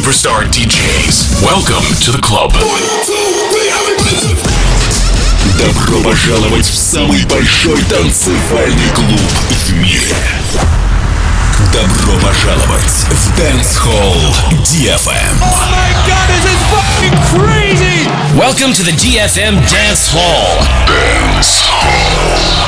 superstar DJs. Welcome to the club. Добро пожаловать в самый большой танцевальный клуб в мире. Добро пожаловать в Dance Hall DFM. Oh my God, this is fucking crazy! Welcome to the DFM Dance Hall. Dance Hall.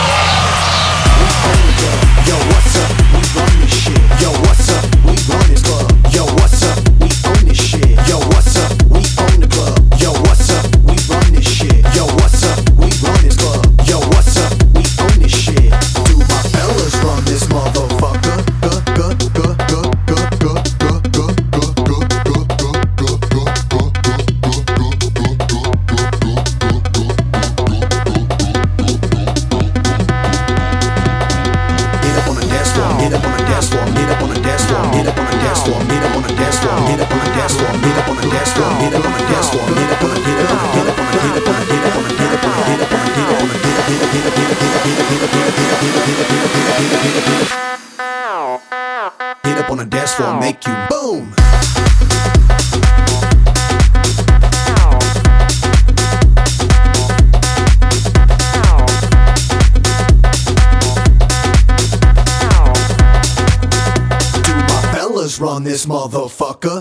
Yo, what's up? We run this shit. Yo, what's up? We run this club. Yo, what's up? We own this shit. Yo, what's up? We own the club. Yo, what's up? We run this shit. Yo, what's up? We run this club. Yo, what's up? We own this shit. Do my fellas run this motherfucker? Get up on the dance floor, make you boom. Do my fellas run this motherfucker?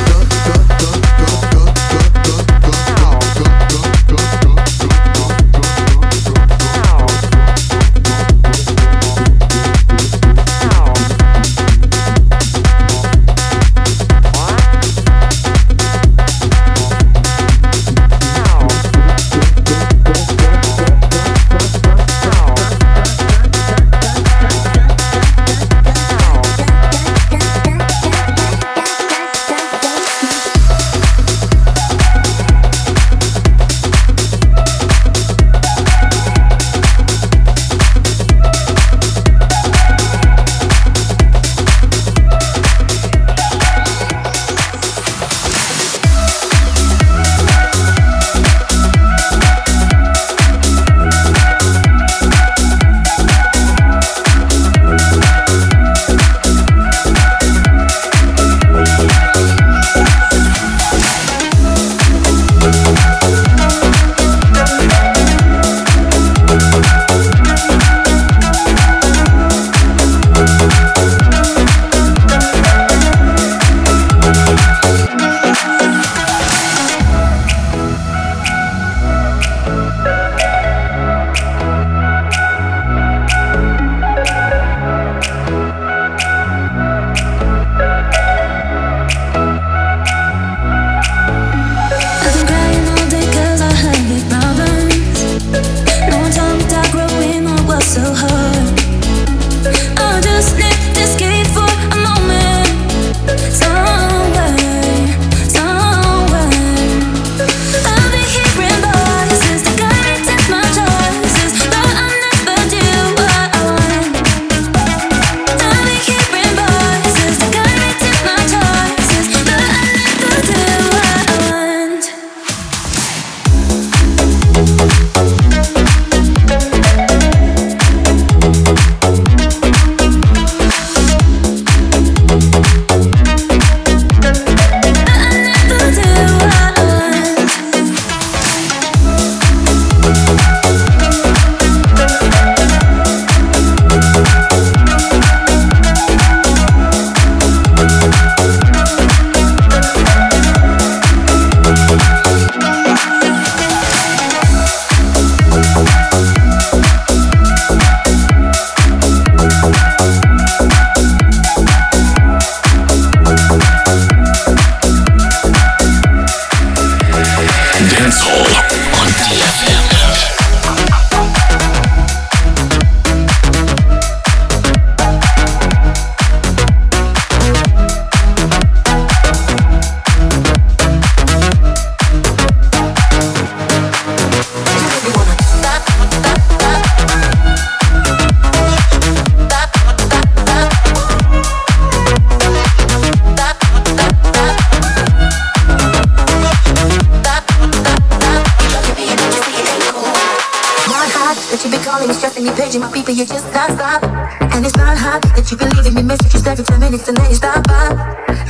You just can't stop. And it's not hot that you be leaving me messages every 10 minutes and then you stop by.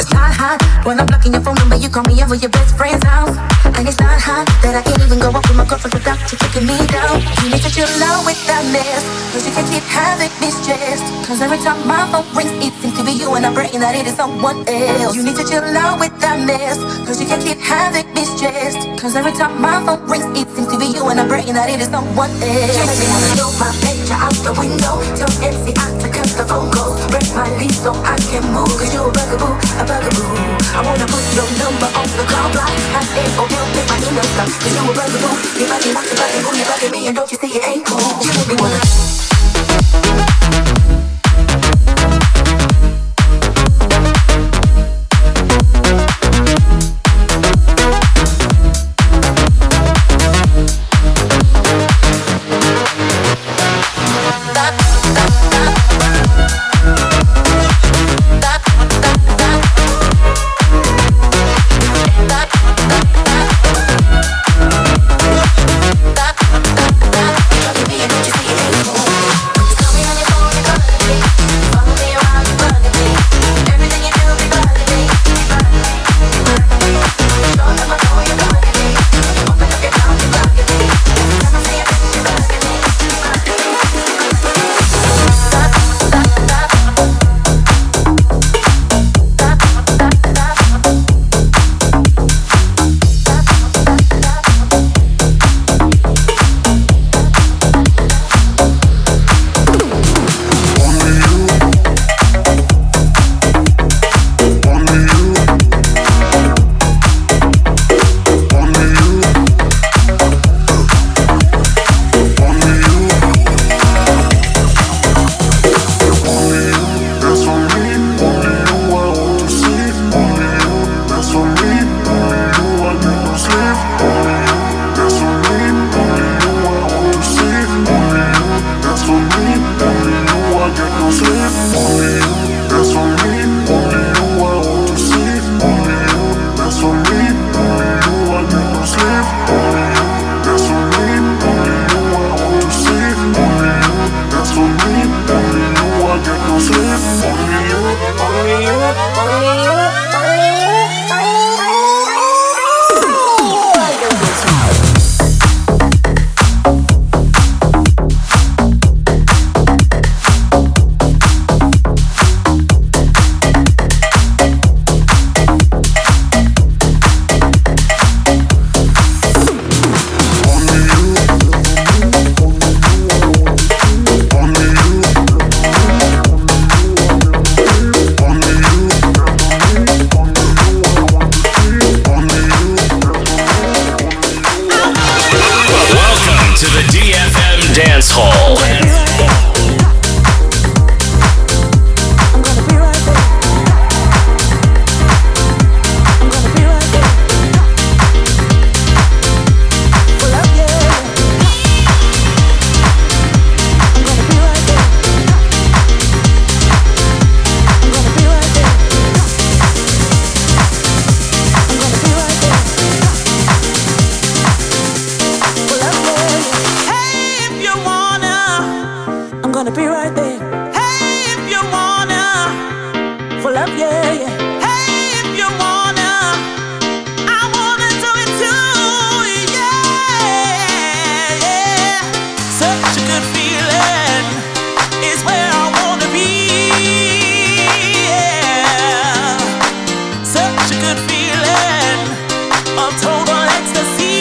it's not hot when I'm blocking your phone number. You call me over your best friend's house, and it's not hot that I can't even go up with my girlfriend without you kicking me down. You need to chill out with that mess, cause you can't keep having me stressed. Cause every time my phone rings, it seems to be you, and I'm praying that it is someone else. You need to chill out with that mess, cause you can't keep having me stressed. Cause every time my phone rings, it seems to be you, and I'm praying that it is someone else. You make me wanna throw my picture out the window, tell MC I to cut the phone calls, break my lease so I can move. Cause you a bugaboo, a bugaboo. I wanna put your number on the call block, have it or help with my email stuff. Cause you a bugaboo, you bugging, you bugging, you bugging me, and don't you see it ain't cool. You make me wanna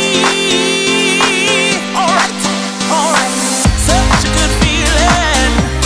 Such a good feeling.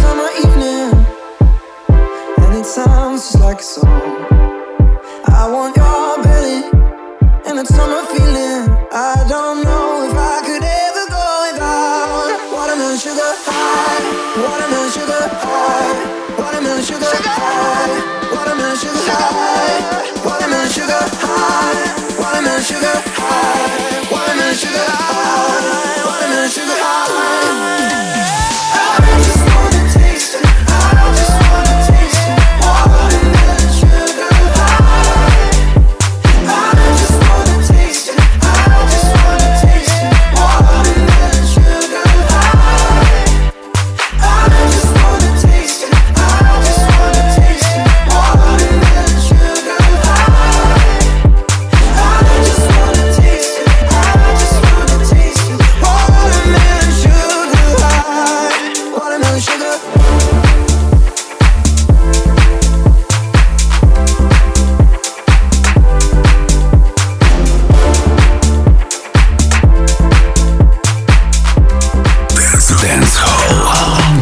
summer evening, and it sounds just like a song. I want your belly and that summer feeling. I don't know if I could ever go without watermelon sugar high, watermelon sugar high, watermelon sugar high, watermelon sugar high, watermelon sugar high, watermelon sugar high, watermelon sugar high, watermelon sugar high. I just wanna taste it. I just wanna taste it. Watermelon sugar high. I just wanna taste it. I just wanna taste it. Watermelon sugar high. I just wanna taste it. I just wanna taste it. Watermelon sugar high. I just wanna taste it. I just wanna taste it. Watermelon sugar high. Watermelon sugar. Dance Hall.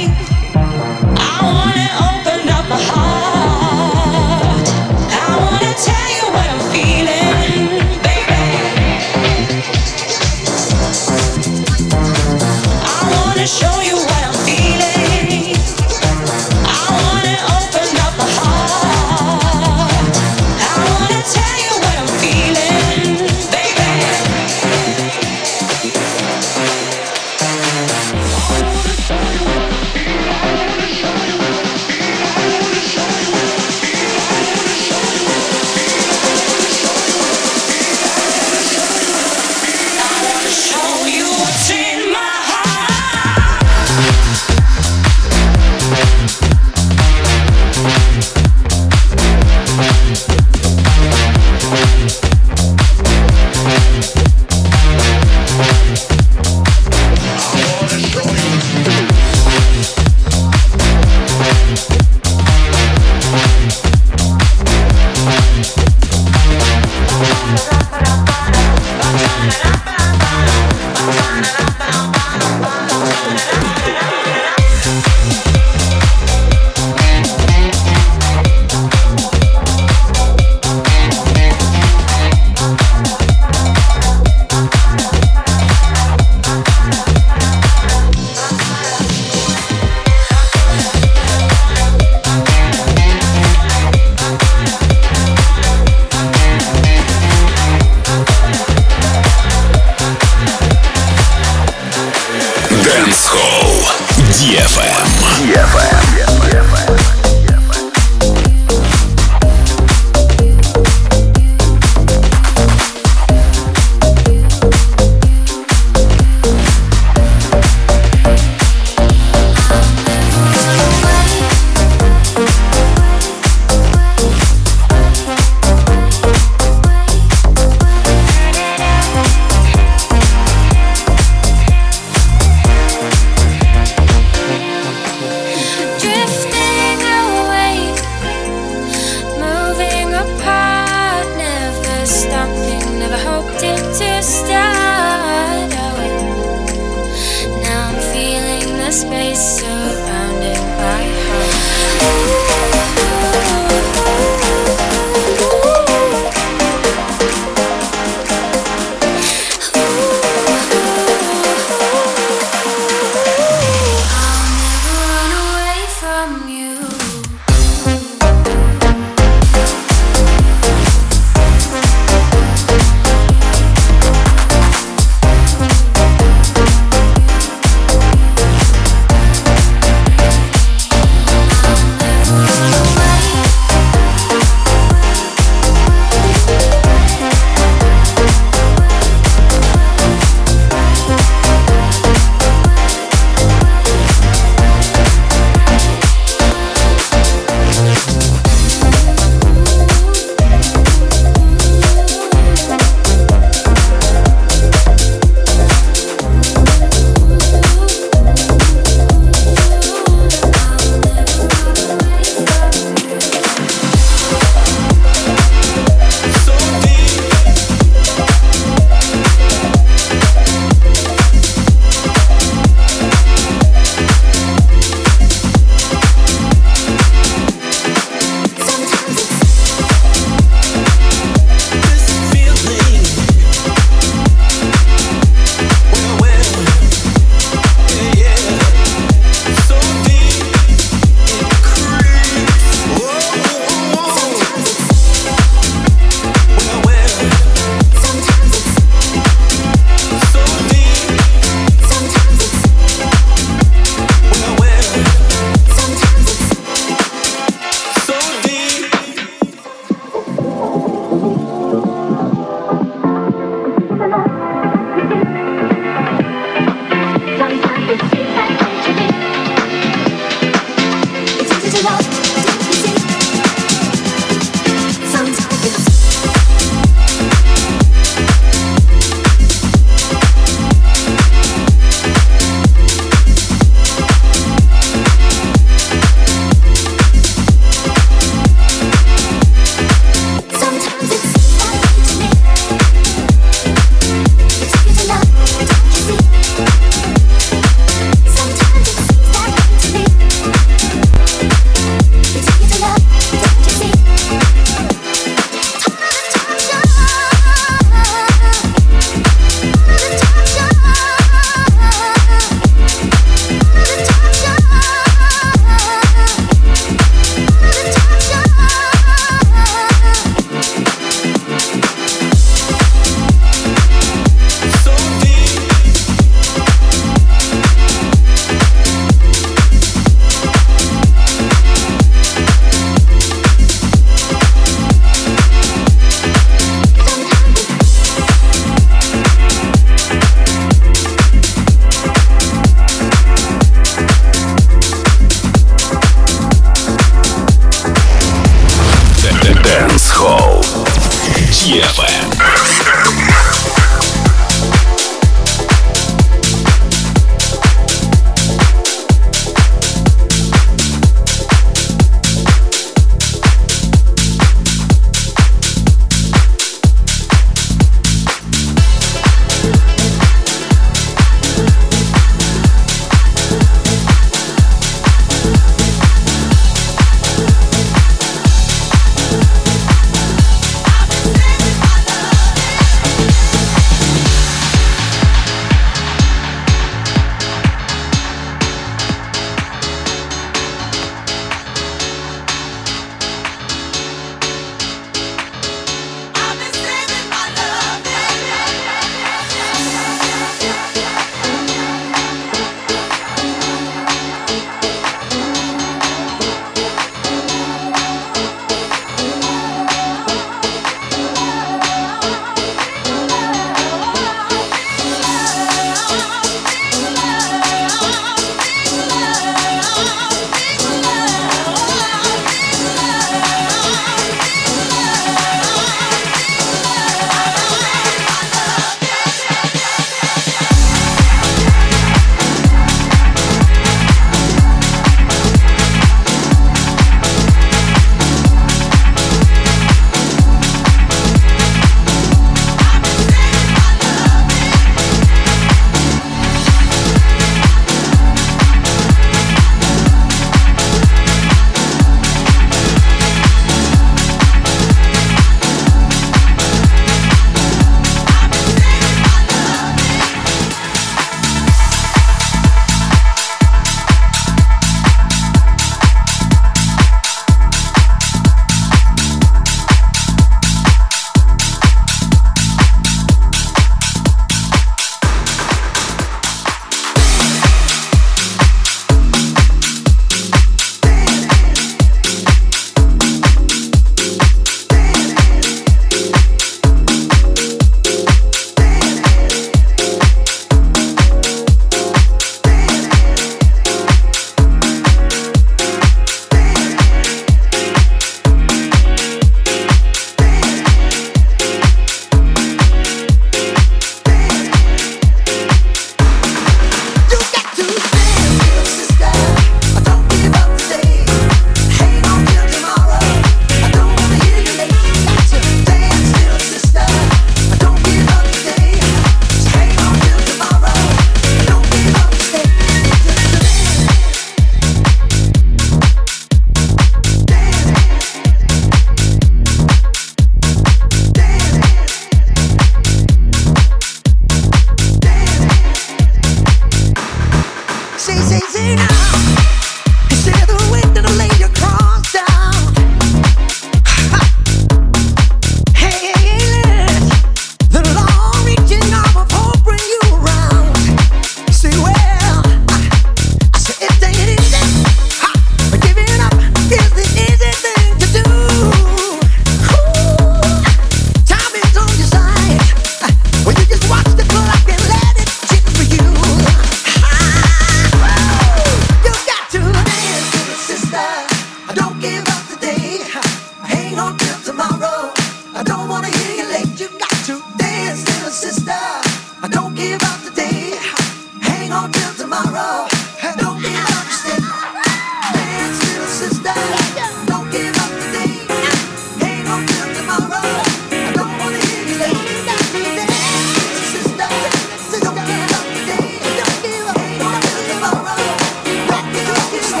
don't wanna hear you late. You got to dance, little sister. Don't give up today. Hang on till tomorrow. Don't give up today. Dance, little sister. Don't give up today. Hang on till tomorrow. I don't wanna hear you late. Dance, little sister. Don't give up today. Hang on till tomorrow. Don't give up today.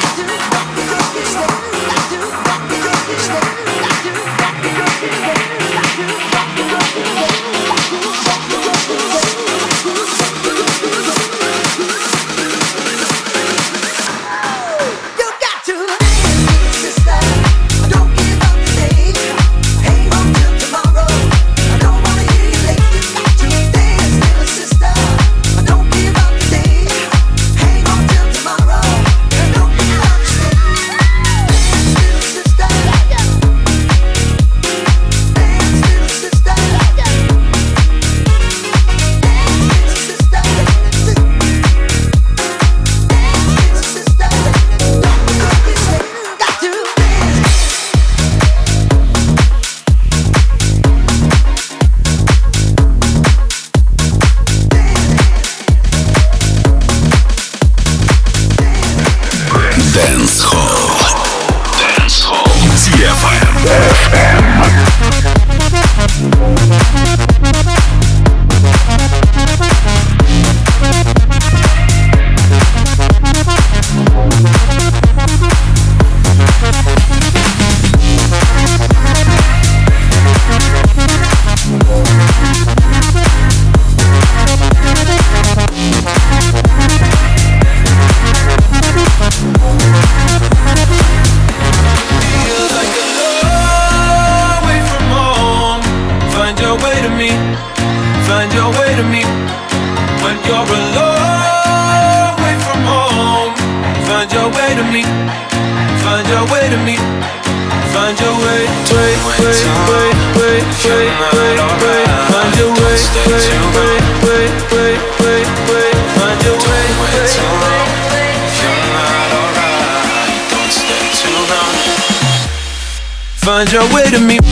Find your way to me.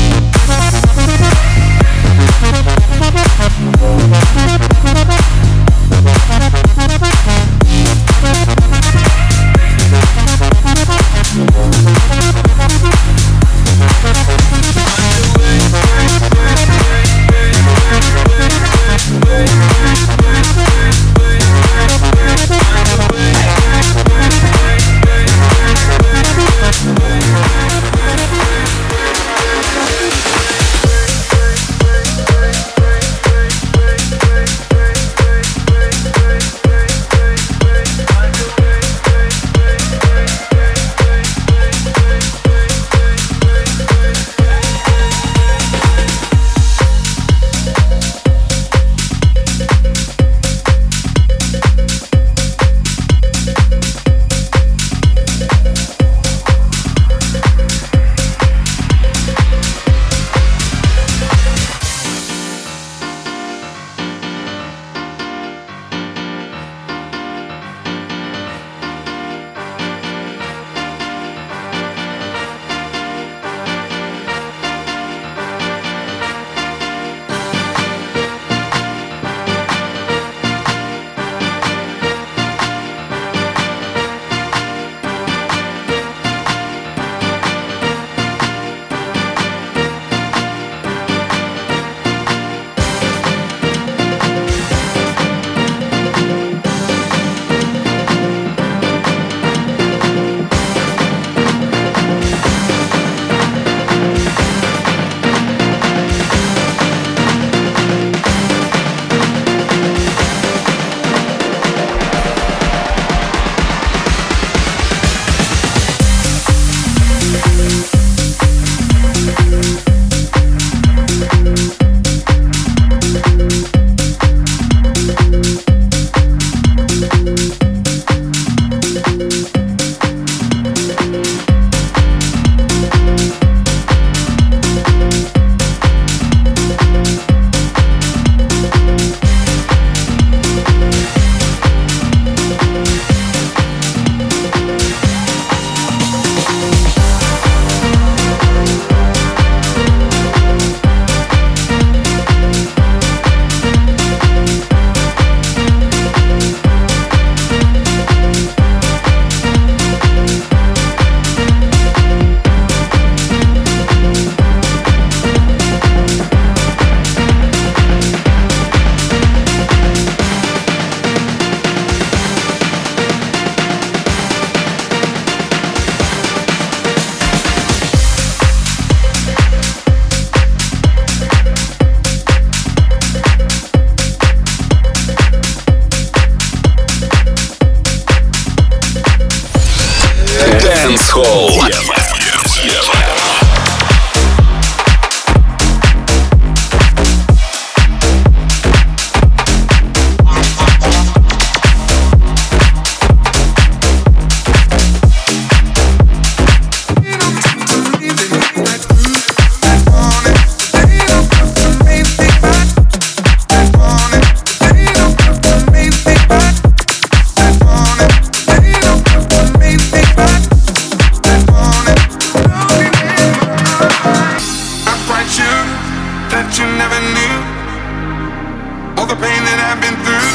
about you that you never knew. All the pain that I've been through.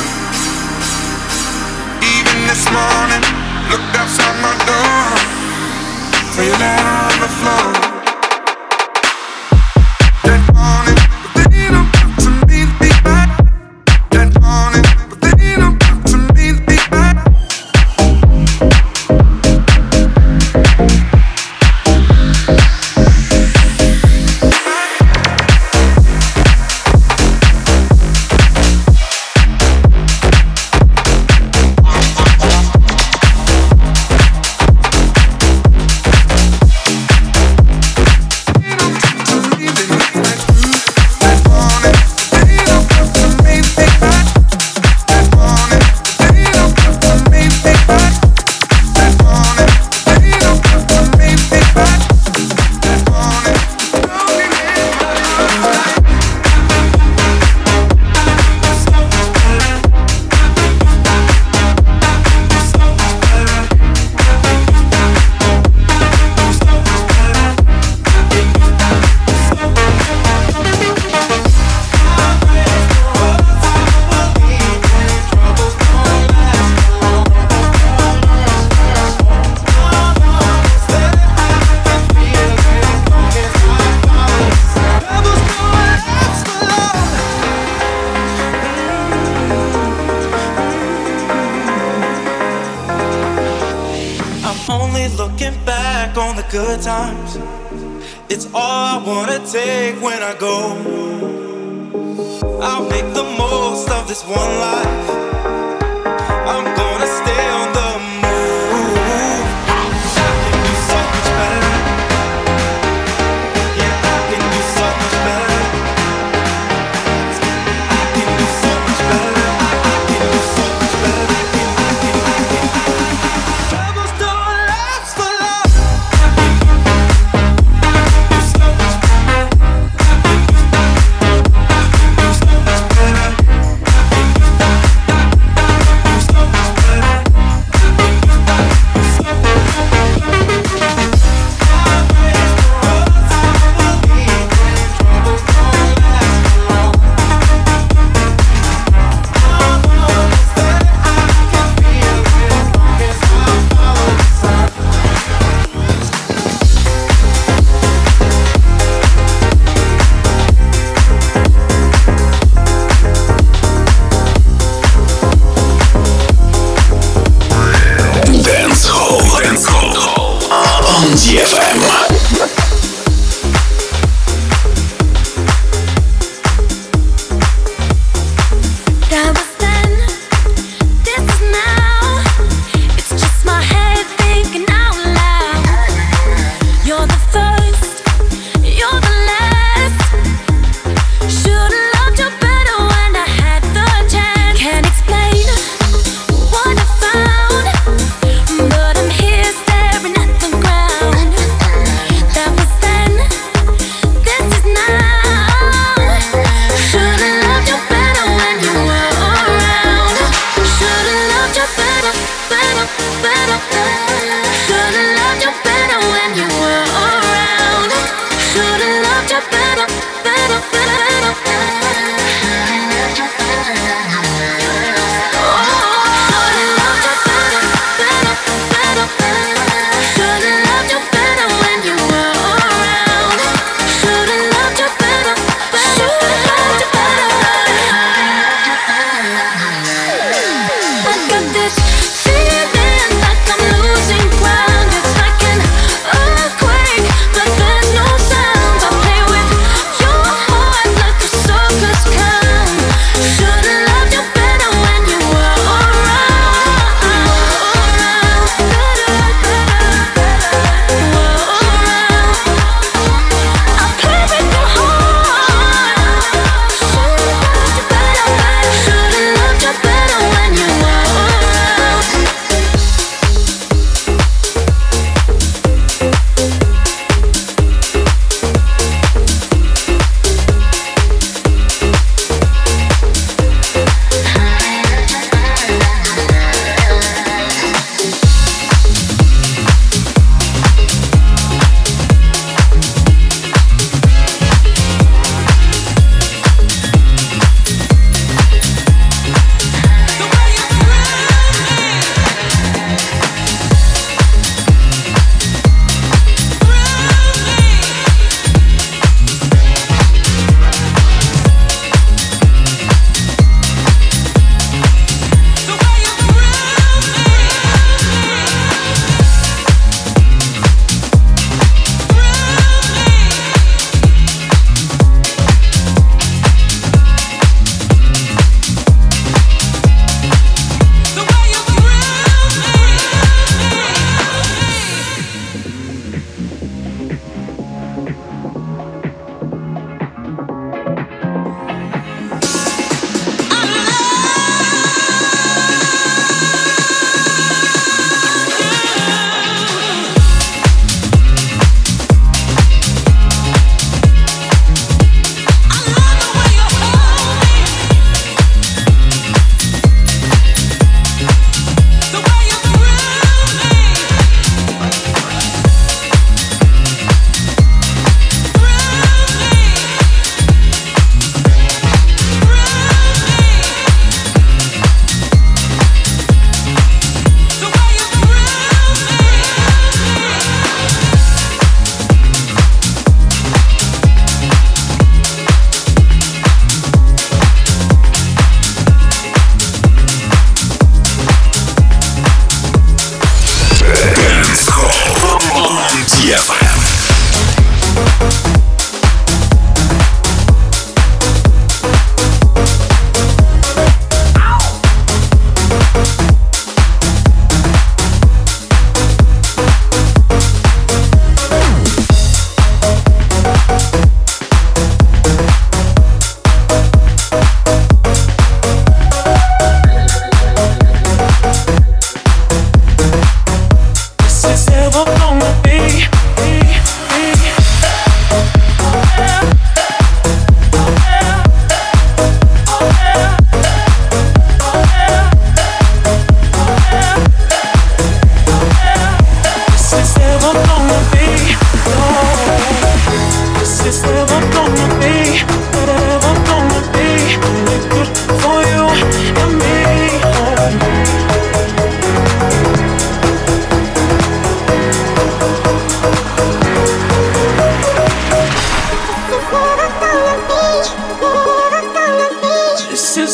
Even this morning, looked outside my door, saw your letter on the floor. That morning, but they don't come to me back. That morning, but they don't come to me back. Good times, it's all I wanna take when I go. I'll make the most of this one life. I'm gonna stay on the move. I can do so much better. Yeah, I can do so much better. I can do so much better. I can do so much better. Troubles don't last for long. I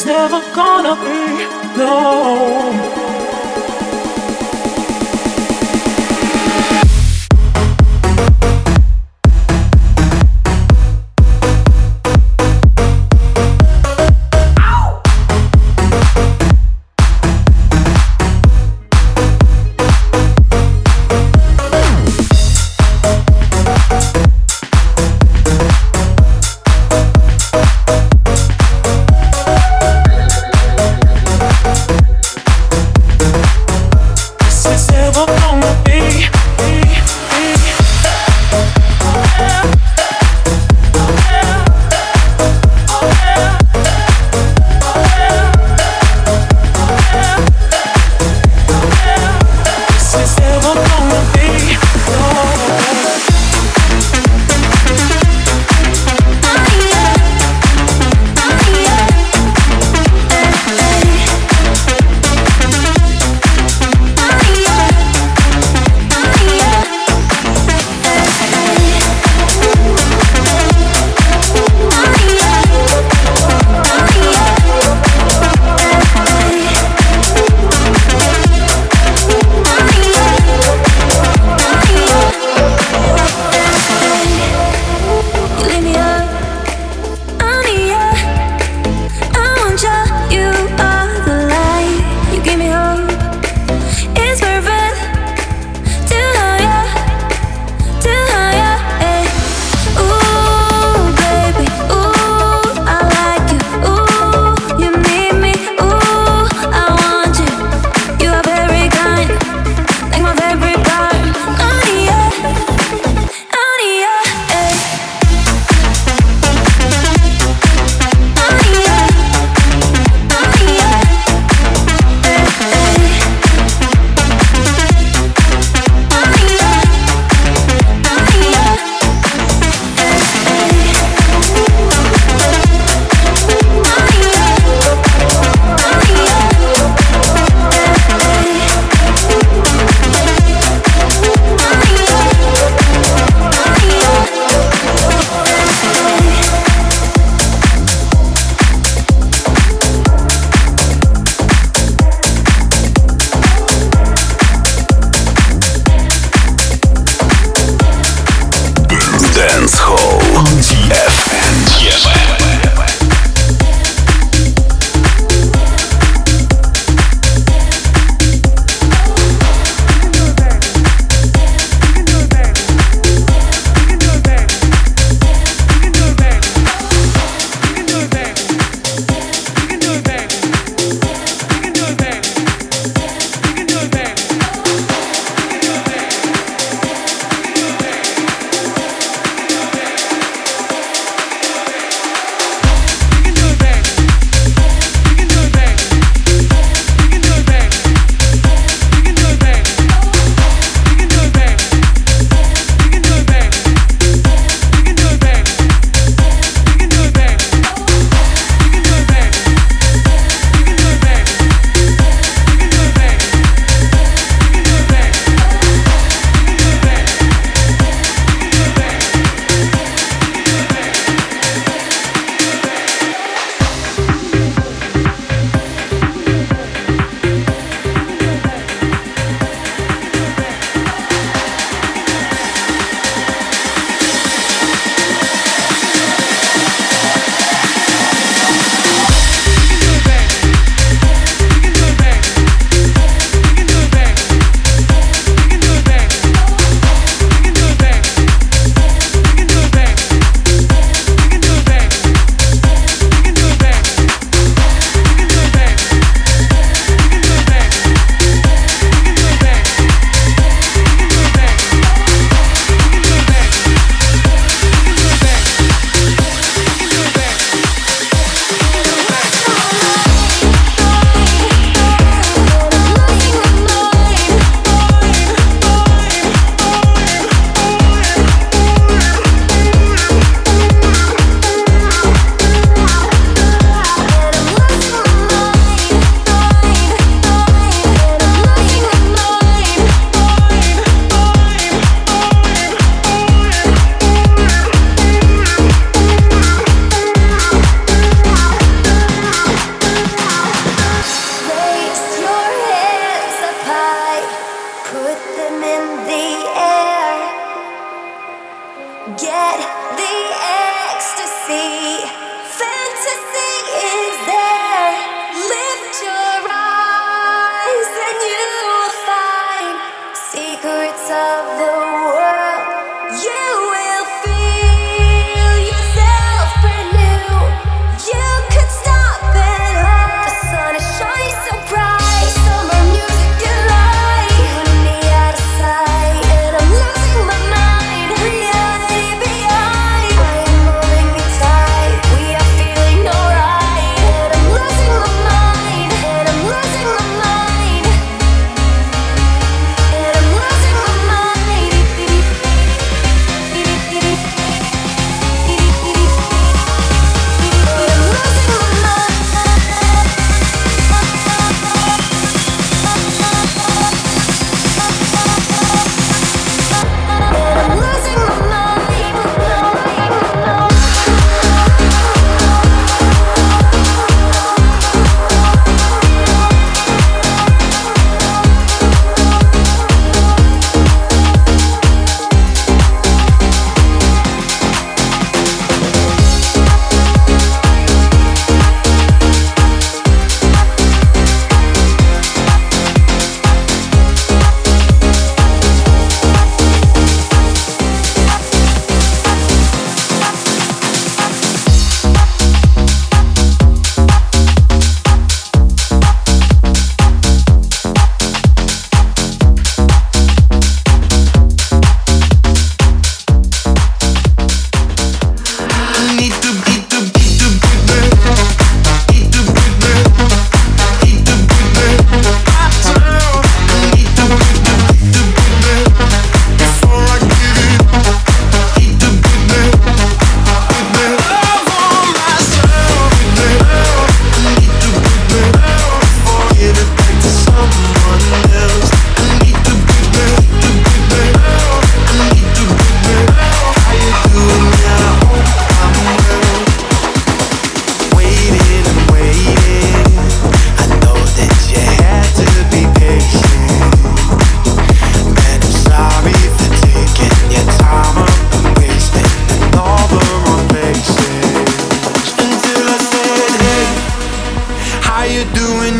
never gonna be, no.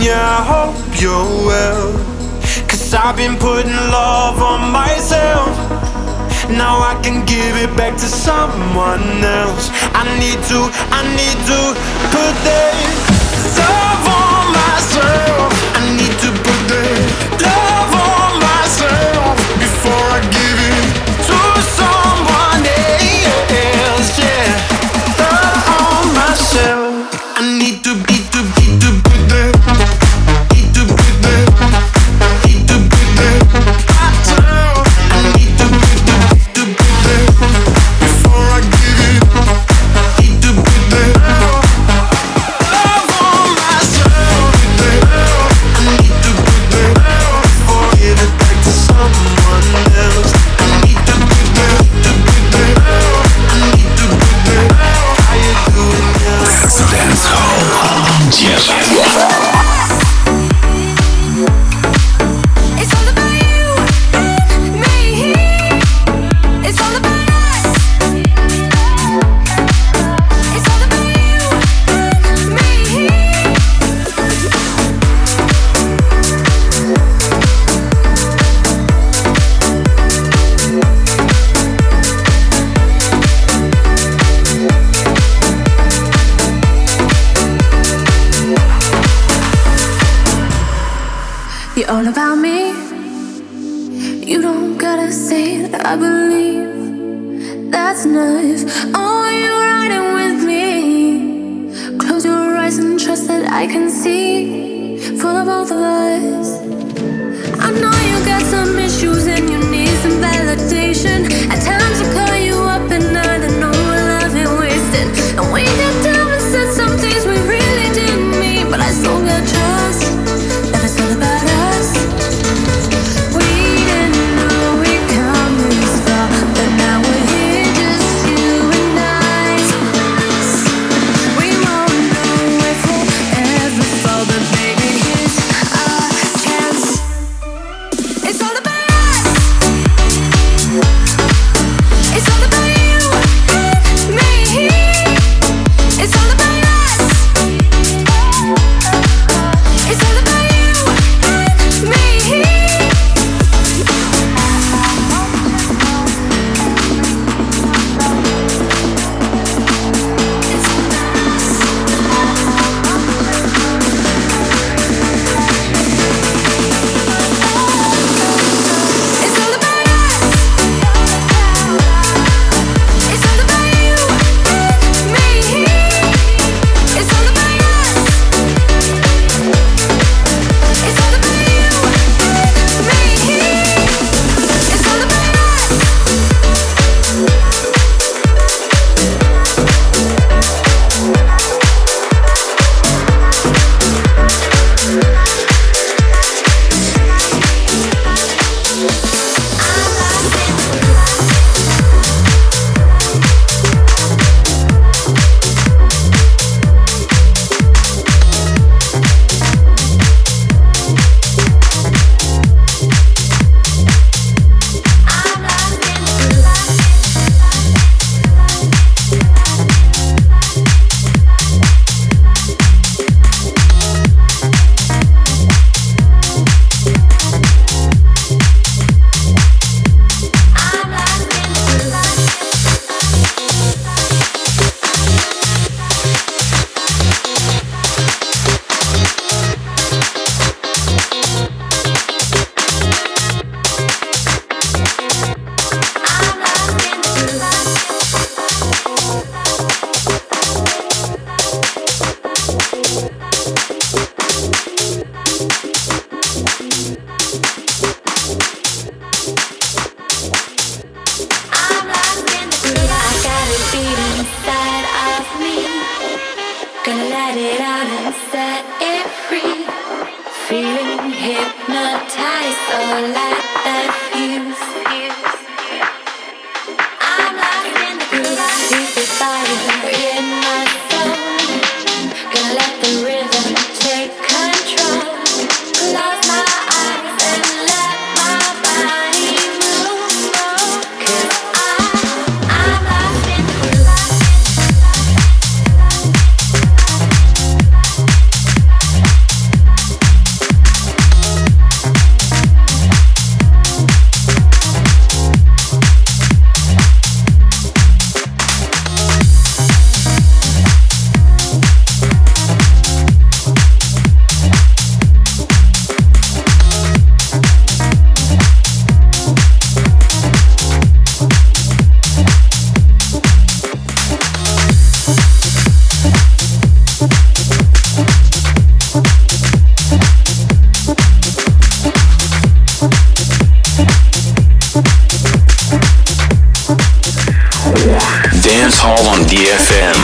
yeah, I hope you're well. 'Cause I've been putting love on myself. Now I can give it back to someone else. I need to put that love on myself. I need to put that love on myself before I give it to someone else. Yeah, love on myself. I need to put that, need to put that, need to put that myself. I need to put that before I give it. Need to put that love on myself. I need to put that before I give it back to someone else. I need to put that, I need to put that. How you doing now? Dance Hall on DFM. It's all about you and me. It's all about us. It's all about you and me. You're all about me. You don't gotta say it, I believe that's nice. Oh, you're riding with me. Close your eyes and trust that I can see for the both of us. I know you got some issues and you need some validation. At times I call you up and I know our love ain't wasted. And we got down and said some things we really didn't mean, but I still got trust that it's all about us. We didn't know we'd come this far, but now we're here, just you and I. We won't know if we'll ever fall, but baby, here's our chance. It's all about us. It's all about you and me. It's all about us. It's all about you and me. It's all about us. It's all about you and me. It's all about us. It's all about you and me. It's all about us. Hall on DFM.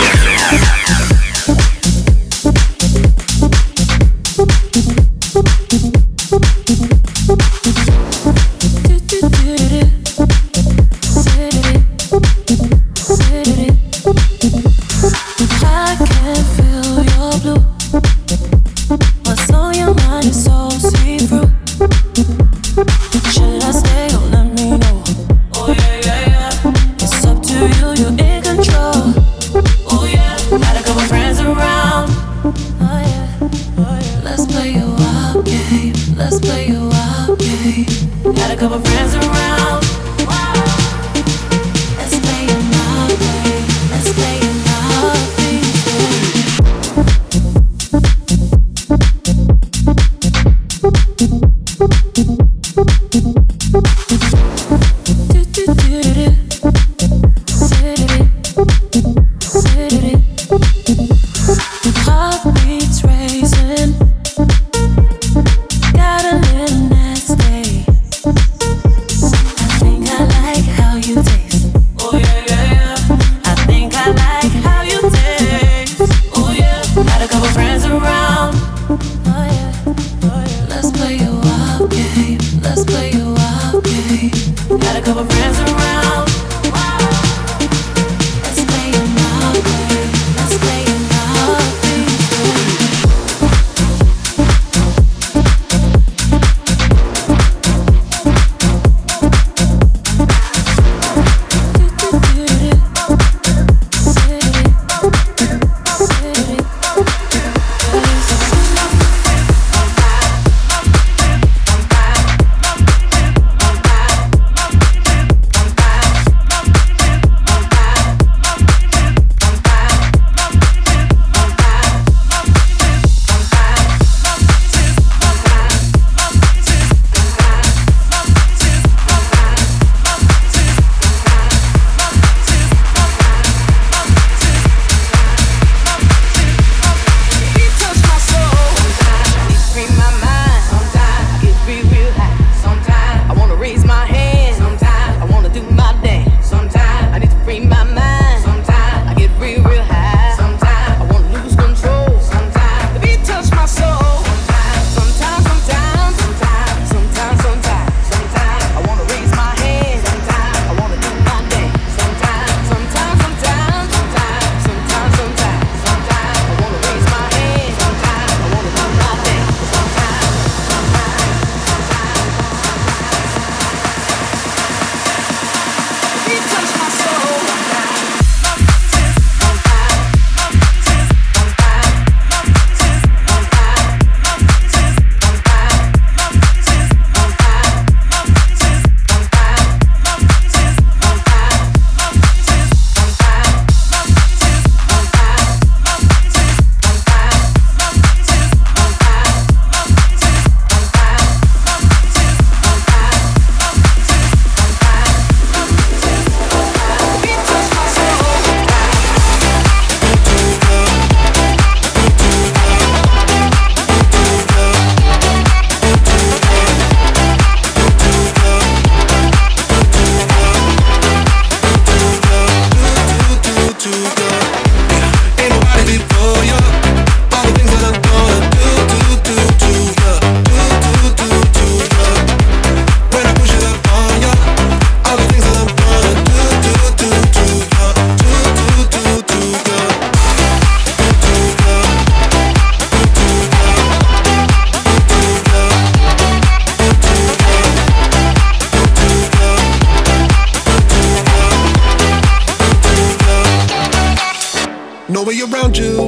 No way around you,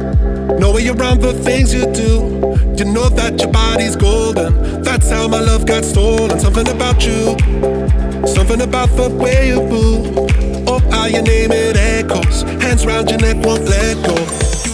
no way around the things you do. You know that your body's golden. That's how my love got stolen. Something about you, something about the way you move. Oh, how your name it echoes. Hands round your neck, won't let go.